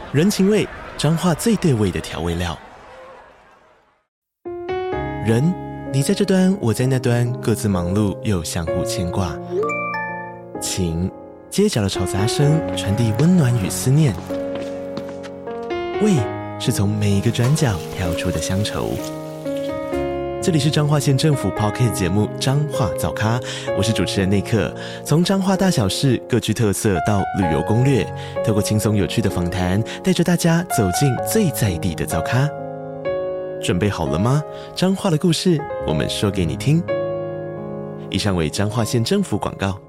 人情味，彰化最對味的調味料。人，你在這端，我在那端，各自忙碌又相互牽掛。情，街角的吵雜聲傳遞溫暖與思念。味，是從每一個轉角跳出的鄉愁。這裡是彰化縣政府 Podcast 節目《彰化早咖》，我是主持人內克。從彰化大小事各具特色到旅遊攻略，透過輕鬆有趣的訪談，帶着大家走進最在地的早咖。準備好了嗎？彰化的故事，我們說給你聽。以上為彰化縣政府廣告。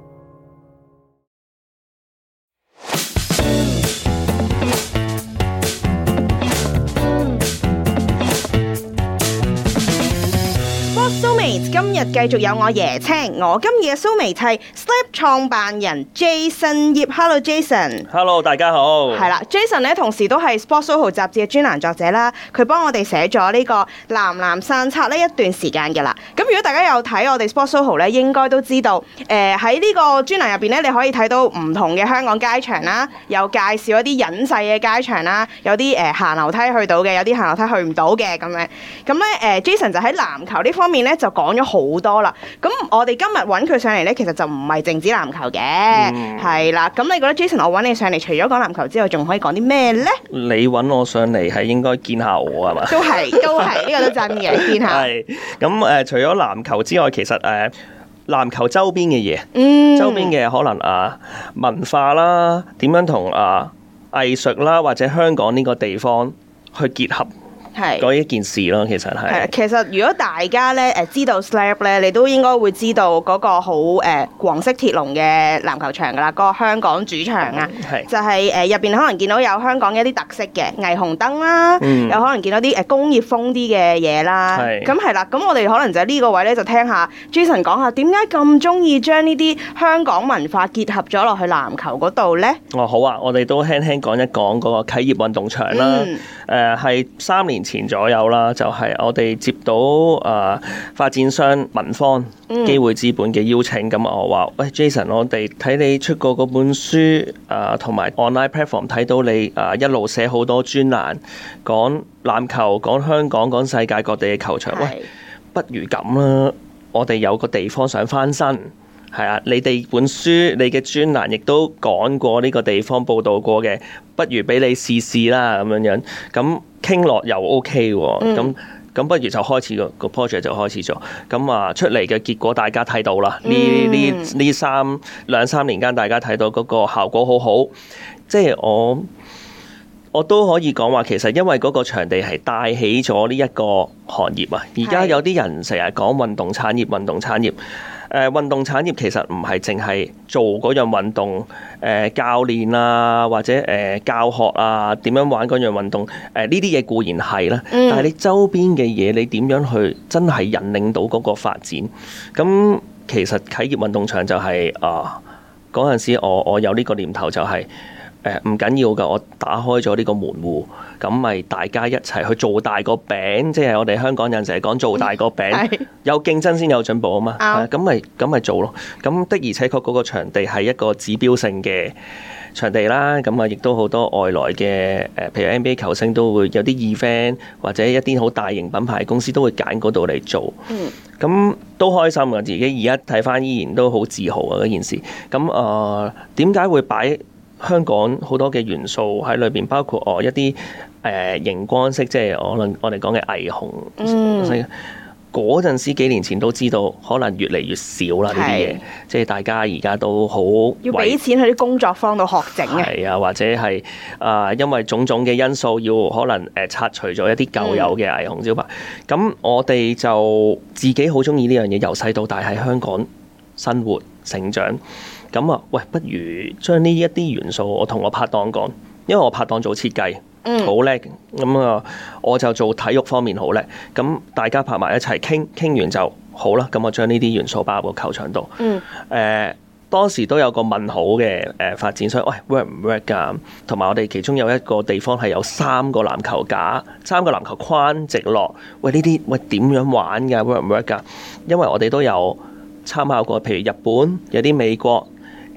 今日繼續有我椰青，我今日嘅 soulmate 係 Slap 創辦人 Jason 葉。Hello Jason。Hello 大家好。 係啦 ，Jason 咧同時都係 Sportsoho 雜誌嘅專欄作者啦，佢幫我哋寫咗呢個藍藍散策呢一段時間嘅啦。咁如果大家有睇我哋 Sportsoho 咧，應該都知道，喺呢個專欄入邊咧，你可以睇到唔同嘅香港街場啦，有介紹一啲隱世嘅街場啦，有啲行樓梯去到嘅，有啲行樓梯去唔到嘅咁樣。咁咧Jason 就喺籃球呢方面咧就講咗好多啦，咁我哋今日揾佢上嚟呢，其實就唔係淨止籃球嘅，係啦。咁你覺得 Jason 我揾你上嚟，除咗講籃球之外，仲可以講啲咩呢？ 你揾我上嚟係應該見下我係嘛？ 都係，呢個都真嘅，見下。係咁除咗籃球之外，其實籃球周邊嘅嘢，周邊嘅可能文化啦，點樣同藝術啦，或者香港呢個地方去結合。嗰一件事咯，其實係。 其實如果大家咧知道 Slap 咧，你都應該會知道嗰個好黃色鐵籠嘅籃球場噶啦，嗰個香港主場啊，就係入邊可能見到有香港嘅一啲特色嘅霓虹燈啦，有可能見到啲工業風啲嘅嘢啦。咁係啦，咁我哋可能就喺呢個位咧，就聽下 Jason 講下點解咁中意將呢啲香港文化結合咗落去籃球嗰度咧？ 哦，好啊，我哋都輕輕講一講嗰個啟業運動場啦。係3年前左右啦，就係我哋接到發展商文方機會資本嘅邀請，咁我話喂 Jason，我哋睇你出過嗰本書，同埋 online platform 睇到你一路寫好多專欄，講籃球、講香港、講世界各地嘅球場，喂，不如咁啦，我哋有個地方想翻身。係啊，你哋本書、你嘅專欄亦都講過呢個地方報導過嘅，不如俾你試試啦咁樣。咁傾落又 OK 喎，咁不如就開始個 project 就開始咗。咁出嚟嘅結果大家睇到啦，呢兩三年間大家睇到嗰個效果好好，即係我都可以講話，其實因為嗰個場地係帶起咗呢一個行業啊。而家有啲人成日講運動產業，運動產業其實唔係淨係做嗰樣運動，教練啊或者教學啊點樣玩嗰樣運動，呢啲嘢固然係啦，但係你周邊嘅嘢你點樣去真係引領到嗰個發展？咁其實啟業運動場就係嗰陣時我有呢個念頭就係。唔緊要㗎，我打開咗呢個門戶，咁咪大家一齊去做大個餅，即係我哋香港人成日講做大個餅，有競爭先有進步啊嘛，咁咪做咯。咁的而且確嗰個場地係一個指標性嘅場地啦，咁亦都好多外來嘅譬如 NBA 球星都會有啲 event 或者一啲好大型品牌公司都會揀嗰度嚟做，咁都開心㗎。自己而家睇返依然都好自豪啊嗰件事。咁點解會擺香港好多嘅元素喺裏邊，包括一啲熒光色，即係可能我哋講嘅霓虹。嗰陣時幾年前都知道，可能越嚟越少啦呢啲嘢，即係大家而家都好要俾錢去啲工作坊度學整嘅。 係啊，或者係因為種種嘅因素，要可能拆除咗一啲舊有嘅霓虹招牌。咁我哋就自己好中意呢樣嘢，由細到大喺香港生活成長。咁喂，不如將呢一啲元素，我同我拍檔講，因為我拍檔做設計，好叻，咁我就做體育方面好叻，咁大家拍埋一齊傾完就好啦。咁我將呢啲元素擺入個球場度。當時都有個問號嘅發展商，喂 work 唔 work 㗎？同埋我哋其中有一個地方係有3個籃球架、3個籃球框直落，喂呢啲喂點樣玩㗎 work 唔 work 㗎？因為我哋都有參考過，譬如日本有啲美國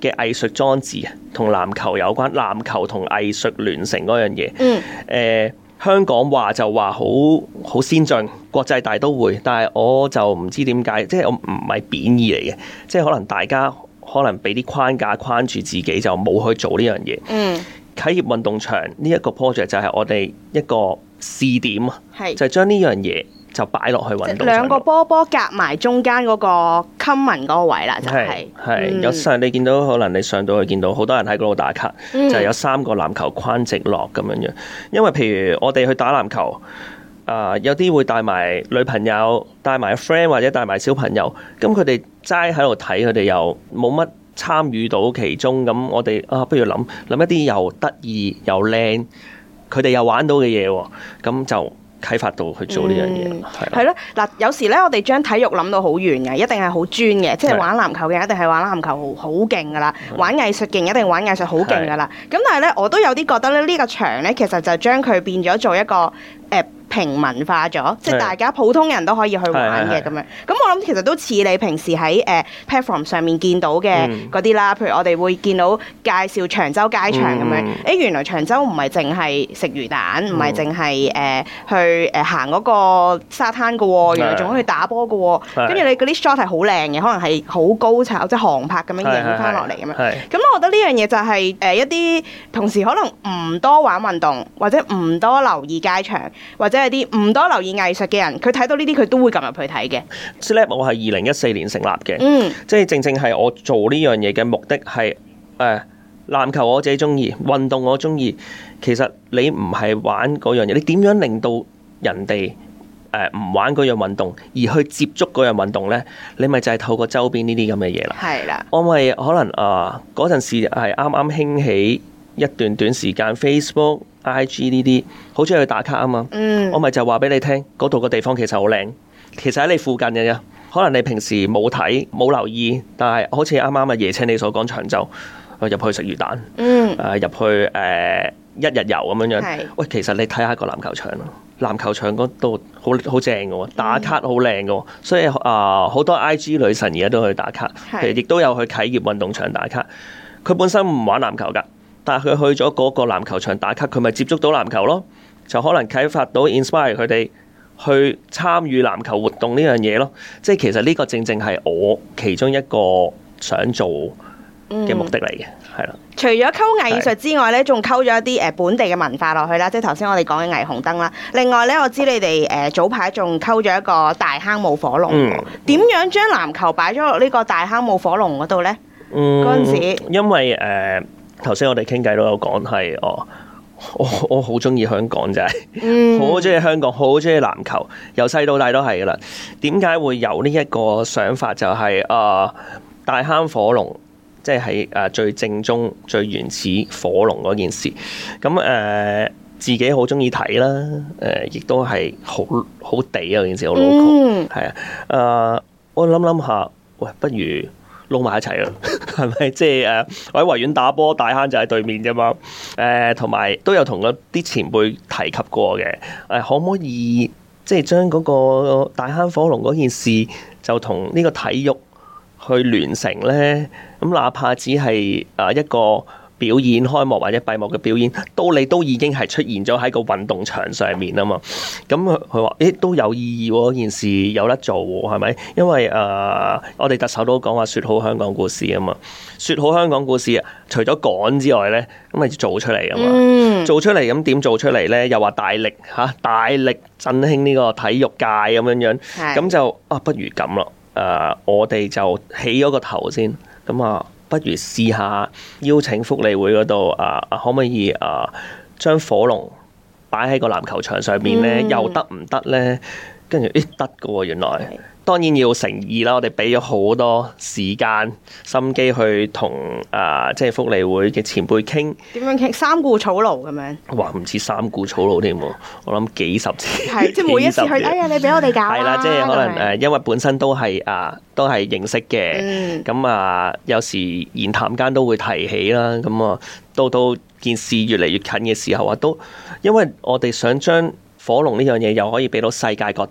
嘅藝術裝置同籃球有關，籃球同藝術聯成嗰樣嘢。香港話就話好先進，國際大都會，但係我就唔知點解，即係我唔係貶義嚟嘅，即係可能大家可能俾啲框架框住自己，就冇去做呢樣嘢。啟業運動場呢一個 project 就係我哋一個試點啊，就係將呢樣嘢就擺落去運動場，兩個波夾埋中間嗰個 common 嗰個位啦，就係有時你見到可能你上到去見到好多人喺嗰度打卡，就係有3個籃球框直落咁樣樣。因為譬如我哋去打籃球，有啲會帶埋女朋友、帶埋 friend 或者帶埋小朋友，咁佢哋齋喺度睇，佢哋又冇乜參與到其中。咁我哋不如諗一啲又得意又靚，佢哋又玩到嘅嘢喎，咁就啟發到去做呢樣嘢， 係咯。嗱，有時咧，我哋將體育諗到好遠嘅，一定係好專嘅，即係玩籃球嘅一定係玩籃球好勁噶啦，玩藝術勁一定玩藝術好勁噶啦。咁但係咧，我都有啲覺得咧，呢個場咧，其實就將佢變咗做一個平民化咗，即係大家普通人都可以去玩嘅咁樣。咁我諗其實都似你平時喺platform 上面見到嘅嗰啲啦，譬如我哋會見到介紹長洲街場咁樣。原來長洲唔係淨係食魚蛋，唔係淨係去行嗰個沙灘嘅喎，原來仲可以去打波嘅喎。跟住你嗰啲 shot 係好靚嘅，可能係好高炒，即係航拍咁樣影翻落嚟咁樣。咁我覺得呢樣嘢就係一啲同時可能唔多玩運動，或者唔多留意街場，或者係啲唔多留意藝術嘅人，佢睇到呢啲佢都會撳入去睇嘅。 SLAP 我係2014年成立嘅，即係正係我做呢樣嘢嘅目的係籃球我自己中意，運動我中意。其實你唔係玩嗰樣嘢，你點樣令到人哋唔玩嗰樣運動，而去接觸嗰樣運動呢？你咪就係透過周邊呢啲咁嘅嘢啦。係啦，我咪可能嗰陣時係啱啱興起一段短時間 Facebook、IG 呢啲，好中意去打卡啊嘛。我咪就話俾你聽，嗰度個地方其實好靚，其實喺你附近嘅啫。可能你平時冇睇冇留意，但係好似啱啱椰青你所講長洲，入去食魚蛋，入去一日遊咁樣樣。喂，其實你睇下個籃球場咯，籃球場嗰度好正嘅喎，打卡好靚嘅喎，所以好多 IG 女神而家都去打卡，其實亦都有去啟業運動場打卡。佢本身唔玩籃球㗎，但係佢去咗嗰個籃球場打卡，佢咪接觸到籃球咯，就可能啟發到 inspire 佢哋去參與籃球活動呢樣嘢咯。即係其實呢個正正係我其中一個想做嘅目的嚟嘅，係啦。 除咗溝藝術之外咧，仲溝咗一啲本地嘅文化落去啦，即係頭先我哋講嘅霓虹燈啦。另外咧，我知你哋早排仲溝咗一個大坑舞火龍，點樣將籃球擺咗落呢個大坑舞火龍嗰度咧？嗰陣時， 因為頭先我哋傾偈都有講係我好中意香港，就係好中意香港，好中意籃球，由細到大都係噶啦。點解會有呢一個想法？就係大坑火龍。即係最正宗、最原始火龍嗰件事，咁自己好中意睇啦，亦都係好地啊件事，好 local，係啊，我諗下，喂，不如撈埋一齊啦，係咪？即係我喺維園打波，大坑就喺對面啫嘛，同埋都有同嗰啲前輩提及過嘅，可唔可以即係將嗰個大坑火龍嗰件事就同呢個體育去聯成呢？咁哪怕只係一個表演開幕或者閉幕嘅表演，你都已經係出現咗喺個運動場上面啊嘛。咁佢話：都有意義喎，件事有得做喎，係咪？因為我哋特首都講話説好香港故事啊嘛。説好香港故事，除咗講之外呢，咁咪做出嚟啊嘛。做出嚟咁點做出嚟呢？又話大力振興呢個體育界咁樣樣，咁就不如咁咯。我哋就起咗個頭先。咁不如試下邀請福利會嗰度可唔可以將火龍擺喺個籃球場上面呢？又得唔得呢？跟住得㗎喎，原來。當然要誠意啦，我哋俾咗好多時間心機去同即係福利會嘅前輩傾。點樣傾？三顧草廬咁樣。哇，唔似三顧草廬添喎，我諗幾十次。係，即係每一次去，哎呀，你俾我哋搞啦。係啦，即係可能因為本身都係認識嘅，咁有時言談間都會提起啦。咁到件事越嚟越近嘅時候都因為我哋想將火龍呢樣嘢又可以俾到世界各地。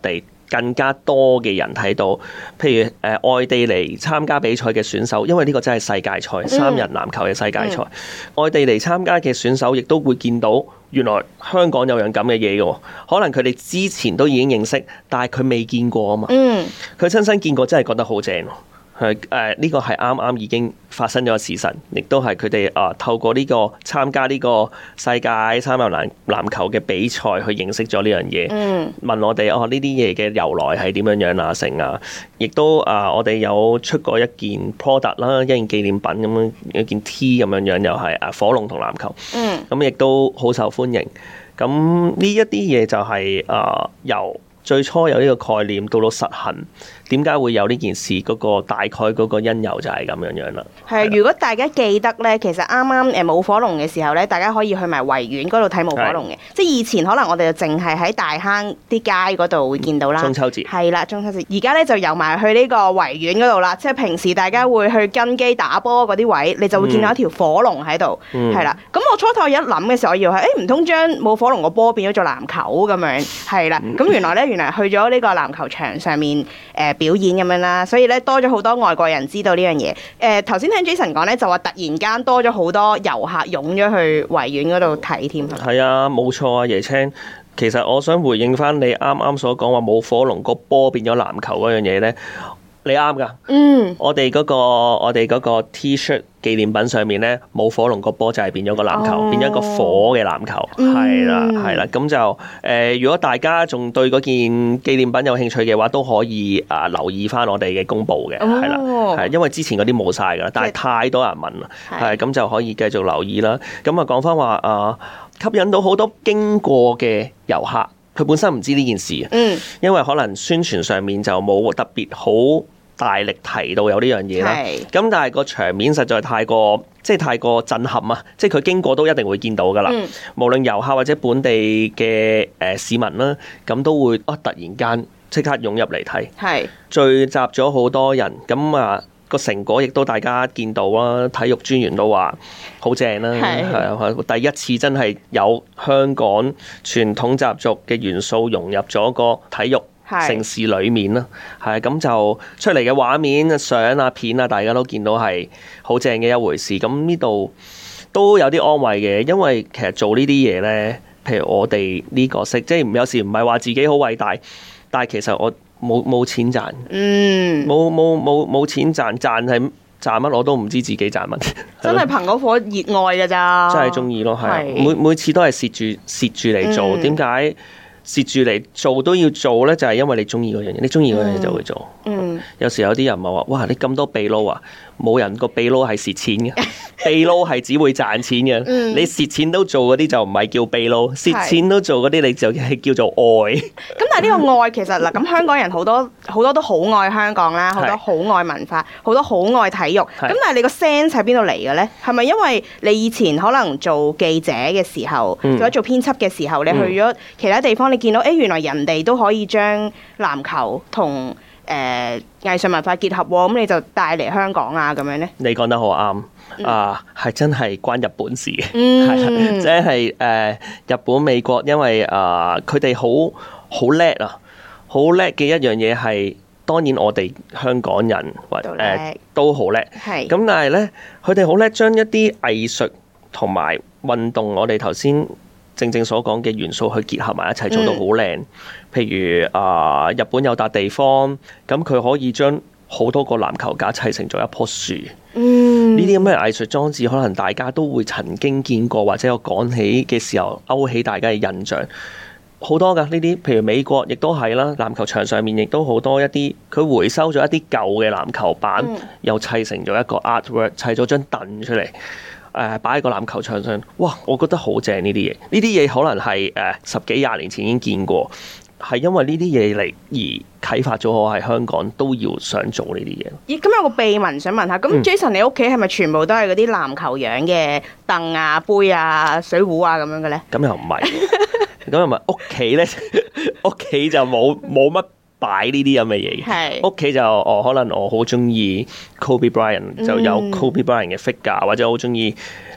更加多嘅人睇到，譬如外地嚟參加比賽嘅選手，因為呢個真係世界賽，三人籃球嘅世界賽，外地嚟參加嘅選手亦都會見到原來香港有樣咁嘅嘢嘅，可能佢哋之前都已經認識，但係佢未見過啊嘛，佢親身見過真係覺得好正。呢個係啱啱已經發生咗嘅事實，亦都係佢哋透過呢個參加呢個世界三人籃球嘅比賽去認識咗呢樣嘢。問我哋呢啲嘢嘅由來係點樣啊成啊，亦都我哋有出過一件 product 啦，一件紀念品咁樣，一件 T 咁樣又係火龍同籃球。咁亦都好受歡迎。咁呢一啲嘢就係由最初有呢個概念到實行，點解會有呢件事？嗰個大概嗰個因由就係咁樣啦。係， 如果大家記得咧，其實啱啱舞火龍嘅時候咧，大家可以去埋維園嗰度睇舞火龍嘅。即係以前可能我哋就淨係喺大坑啲街嗰度會見到啦。中秋節係啦，中秋節而家咧就遊埋去呢個維園嗰度啦。即係平時大家會去跟機打波嗰啲位，你就會見到一條火龍喺度。係啦，咁我初頭一諗嘅時候，我以為唔通將舞火龍個波變咗做籃球咁樣？係啦，咁原來去咗呢個籃球場上面表演咁樣啦，所以咧多咗好多外國人知道呢樣嘢。頭先聽 Jason 講咧，就話突然間多咗好多遊客湧咗去維園嗰度睇添。 係啊，冇錯啊，椰青。其實我想回應翻你啱啱所講話舞火龍個波變咗籃球嗰樣嘢咧，你啱噶。我哋嗰個 T-shirt 紀念品上面咧，舞火龍個波就係變咗個籃球，變咗一個火嘅籃球。係啦，咁就如果大家仲對嗰件紀念品有興趣嘅話，都可以留意翻我哋嘅公佈嘅。係啦，係因為之前嗰啲冇晒㗎啦，但係太多人問啦，係咁就可以繼續留意啦。咁講翻話吸引到好多經過嘅遊客，佢本身唔知呢件事，因為可能宣傳上面就冇特別好大力提到有呢樣嘢啦。咁但係個場面實在太過震撼啊！即係佢經過都一定會見到噶啦。無論遊客或者本地嘅市民啦，咁都會突然間即刻湧入嚟睇，聚集咗好多人。咁個成果亦都大家見到啦，體育專員都話好正啦，係第一次真係有香港傳統習俗嘅元素融入咗個體育城市裏面啦，係咁就出嚟嘅畫面、相啊、片啊，大家都見到係好正嘅一回事。咁呢度都有啲安慰嘅，因為其實做呢啲嘢呢，譬如我哋呢個識，即係有時唔係話自己好偉大，但係其實我冇錢賺，冇錢賺係賺乜我都唔知自己賺乜， 真係憑嗰顆熱愛㗎咋， 真係中意咯，係每次都係蝕住嚟做，點解？蝕住嚟做都要做咧，就係因為你中意嗰樣嘢，你中意嗰樣嘢就會做。有時有啲人咪話：哇，你咁多秘撈啊！冇人個秘撈係蝕錢嘅，秘撈係只會賺錢嘅。你蝕錢都做嗰啲就唔係叫秘撈，蝕錢都做嗰啲你就係叫做愛。 咁但係呢個愛其實嗱，咁香港人好多都好愛香港啦，好多好愛文化，好多好愛體育。咁但係你個 sense 喺邊度嚟嘅咧？係咪因為你以前可能做記者嘅時候，或者做編輯嘅時候，你去咗其他地方，你見到原來人哋都可以將籃球同藝術文化結合喎，咁你就帶嚟香港啊咁樣咧？你講得好啱係真係關日本事嘅，即係日本、美國，因為佢哋好叻啊，好叻嘅一樣嘢係，當然我哋香港人都好叻，咁但係咧，佢哋好叻將一啲藝術同埋運動，我哋頭先正所講嘅元素去結合埋一齊，做到好靚。譬如日本有笪地方，咁佢可以將好多個籃球架砌成咗一棵樹。呢啲咁嘅藝術裝置，可能大家都會曾經見過，或者有講起嘅時候勾起大家嘅印象。好多噶呢啲，譬如美國亦都係啦，籃球場上面亦都好多一啲，佢回收咗一啲舊嘅籃球板，又砌成咗一個 artwork， 砌咗張凳出嚟。擺喺個籃球場上，哇！我覺得好正呢啲嘢，呢啲嘢可能係10幾20年前已經見過，係因為呢啲嘢嚟而啟發咗我喺香港都要想做呢啲嘢。咦？咁有個秘聞想問下，咁 Jason 你屋企係咪全部都係嗰啲籃球樣嘅凳啊、杯啊、水壺啊咁樣嘅咧？咁又唔係，咁又唔係屋企咧，屋企就冇乜擺呢啲咁嘅嘢嘅，屋企就可能我好中意 Kobe Bryant，就有 Kobe Bryant 嘅 figure，或者好中意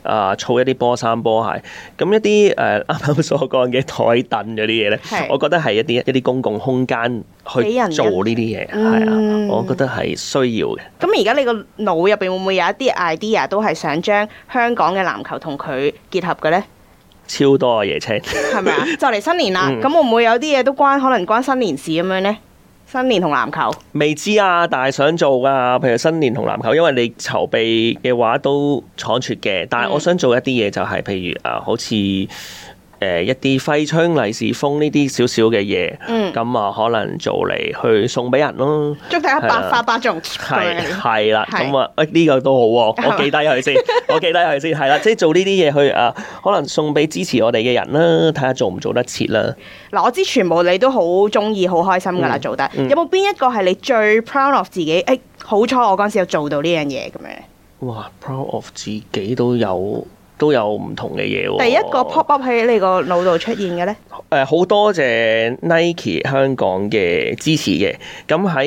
儲一啲波衫波鞋。咁一啲啱啱所講嘅台凳嗰啲嘢咧，我覺得係一啲公共空間去做呢啲嘢，係啊，我覺得係需要嘅。 咁而家你個腦入邊會唔會有一啲 idea 都係想將香港嘅籃球同佢結合嘅咧？ 超多啊，椰青， 係咪啊？就嚟新年啦，咁會唔會有啲嘢都可能關新年事咁樣咧？新年同籃球未知啊，但係想做噶。譬如新年同籃球，因為你籌備嘅話都倉促嘅，但係我想做一啲嘢就係譬如好似一啲揮春利是封呢啲少少嘅嘢，咁可能做嚟去送俾人咯。 祝大家百發百中， 係啦，咁呢個都好喎，我記低佢先，係啦，即係做呢啲嘢去可能送俾支持我哋嘅人啦，睇下做唔做得切啦。 嗱，我知全部你都好中意、好開心噶啦，做得。有冇邊一個係你最 proud of 自己？好彩我嗰陣時有做到呢樣嘢咁樣。哇 ，proud of 自己都有唔同嘅嘢喎。 第一個 pop up 喺你個腦度出現嘅咧？ 好多謝 Nike 香港嘅支持嘅。咁喺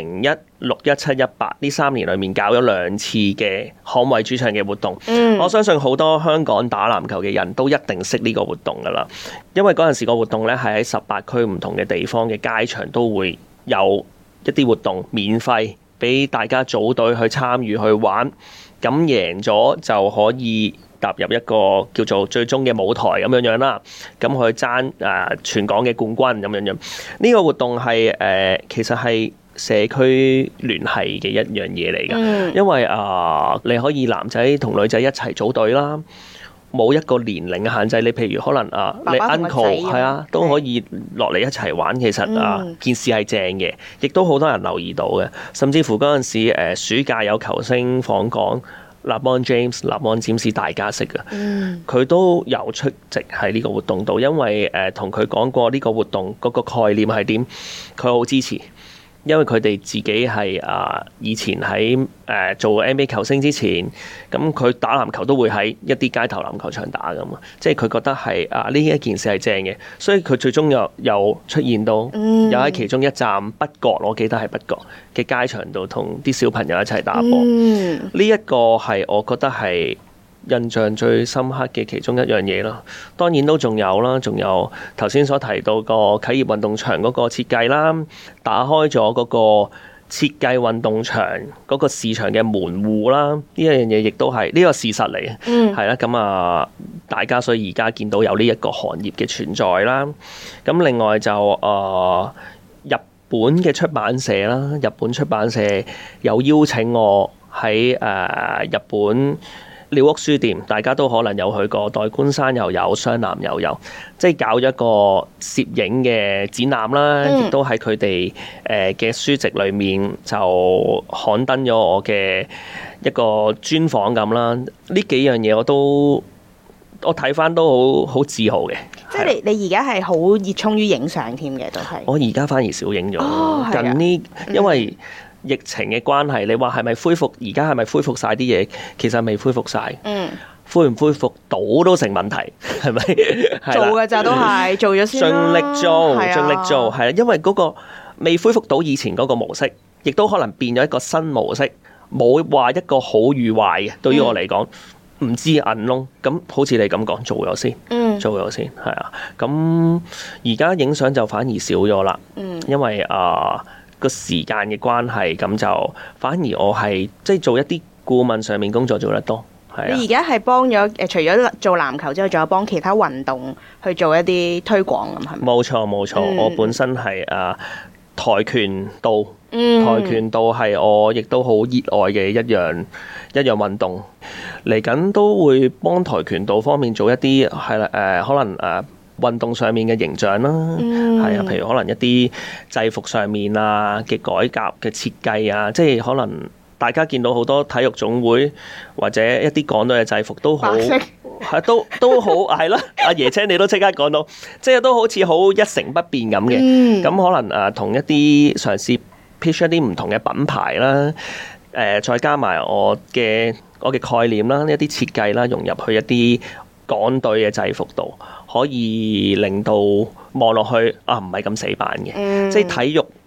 2016、17、18呢3年裏面搞咗2次嘅捍衛主場嘅活動。我相信好多香港打籃球嘅人都一定識呢個活動噶啦，因為嗰陣時個活動咧係喺18區唔同嘅地方嘅街場都會有一啲活動免費俾大家組隊去參與去玩，咁贏咗就可以踏入一個叫做最終嘅舞台咁樣啦，咁去爭全港嘅冠軍咁樣。呢個活動係其實係社區聯繫嘅一樣嘢嚟㗎，因為你可以男仔同女仔一齊組隊啦，冇一個年齡嘅限制。你譬如可能你 uncle 係啊，都可以落嚟一齊玩。其實件事係正嘅，亦都好多人留意到嘅。甚至乎嗰陣時暑假有球星訪港。LeBron James 大家識嘅，佢都有出席喺呢個活動度，因為同佢講過呢個活動嗰個概念係點，佢好支持。因為佢哋自己係以前喺做 NBA 球星之前，咁佢打籃球都會喺一啲街頭籃球場打㗎嘛，即係佢覺得係呢一件事係正嘅，所以佢最終又出現到，又喺其中一站北角，我記得係北角嘅街場度同啲小朋友一齊打波。呢一個係我覺得係印象最深刻嘅其中一樣嘢啦，當然都仲有啦，仲有頭先所提到個啟業運動場嗰個設計啦，打開咗嗰個設計運動場嗰個市場嘅門戶啦，呢一樣嘢亦都係呢個事實嚟嘅，係啦，咁大家所以而家見到有呢一個行業嘅存在啦，咁另外就日本嘅出版社啦，日本出版社有邀請我喺日本廖屋書店，大家都可能有去過，代官山又有，湘南又有，即係搞咗一個攝影嘅展覽啦，亦都喺佢哋嘅書籍裏面就刊登咗我嘅一個專訪咁啦。呢幾樣嘢我睇翻都好自豪嘅。即係你而家係好熱衷於影相添嘅，都係。我而家反而少影咗，近呢因為疫情嘅關係，你話係咪恢復？而家係咪恢復晒啲嘢？其實未恢復晒。恢唔恢復到都成問題，係咪？ 做嘅咋都係做咗先啦。盡力做，係啊，因為嗰個未恢復到以前嗰個模式，亦都可能變咗一個新模式，冇話一個好與壞嘅。對於我嚟講，唔知銀窿咁，好似你咁講，做咗先，做咗先，係啊。咁而家影相就反而少咗啦，因為個時間嘅關係，咁就反而我係即係做一啲顧問上面工作做得多。係啊， 你而家係幫咗除咗做籃球之外，仲有幫其他運動去做一啲推廣咁係咪？冇錯，我本身係跆拳道，跆拳道係我亦都好熱愛嘅一樣運動。嚟緊都會幫跆拳道方面做一啲係啦，可能運動上面嘅形象啦，係啊，譬如可能一啲制服上面嘅改革嘅設計啊，即係可能大家見到好多體育總會或者一啲港隊嘅制服都好，係都好係啦。阿椰青你都即刻講到，即係都好似好一成不變咁嘅。咁可能同一啲嘗試 pitch 一啲唔同嘅品牌啦，再加埋我嘅概念啦，一啲設計啦，融入去一啲港隊嘅制服度，可以令到望落去唔係咁死板嘅，即係體育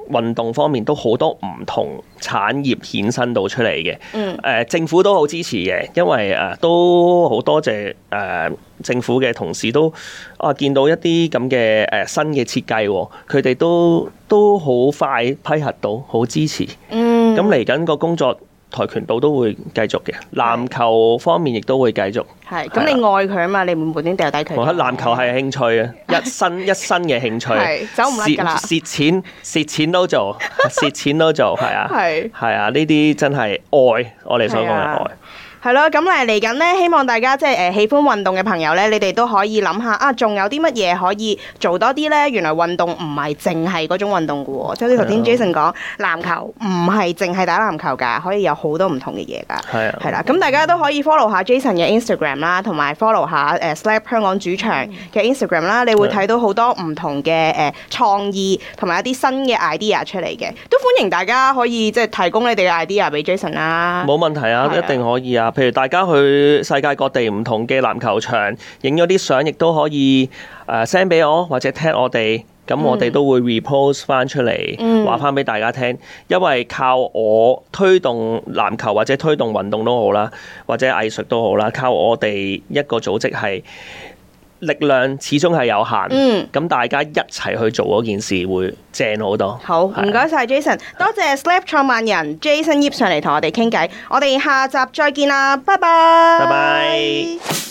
運動方面都好多唔同產業衍生到出嚟嘅。政府都好支持嘅，因為都好多謝政府嘅同事都見到一啲咁嘅新嘅設計，佢哋都好快批核到，好支持。咁嚟緊個工作，跆拳道都會繼續嘅，籃球方面亦都會繼續。係，咁你愛佢啊嘛，你唔會無端掉低佢。我覺得籃球係興趣啊，一生嘅興趣，走唔甩㗎啦。蝕錢都做，蝕錢都做，係啊，係啊，呢啲真係愛，我哋所講嘅愛。係咯，咁嚟緊咧，希望大家即係喜歡運動嘅朋友咧，你哋都可以諗下啊，仲有啲乜嘢可以做多啲咧？原來運動唔係淨係嗰種運動嘅喎，即係好似頭先 Jason 講，籃球唔係淨係打籃球㗎，可以有好多唔同嘅嘢㗎。係啊，係啦，咁大家都可以 follow 下 Jason 嘅 Instagram 啦，同埋 follow 下Slap 香港主場嘅 Instagram 啦，你會睇到好多唔同嘅創意同埋一啲新嘅 idea 出嚟嘅，都歡迎大家可以即係提供你哋嘅 idea 俾 Jason 啦。冇問題啊，一定可以啊。譬如大家去世界各地唔同嘅籃球場影咗啲相，亦都可以send 俾我或者 tag 我哋，咁我哋都會 repost 翻出嚟，話翻俾大家聽。因為靠我推動籃球或者推動運動都好啦，或者藝術都好啦，靠我哋一個組織係力量始終係有限，咁大家一齊去做嗰件事會正好多。好，唔該晒 Jason， 多謝 Slap 創辦人 Jason Yip 上嚟同我哋傾偈，我哋下集再見啦，拜拜。拜拜。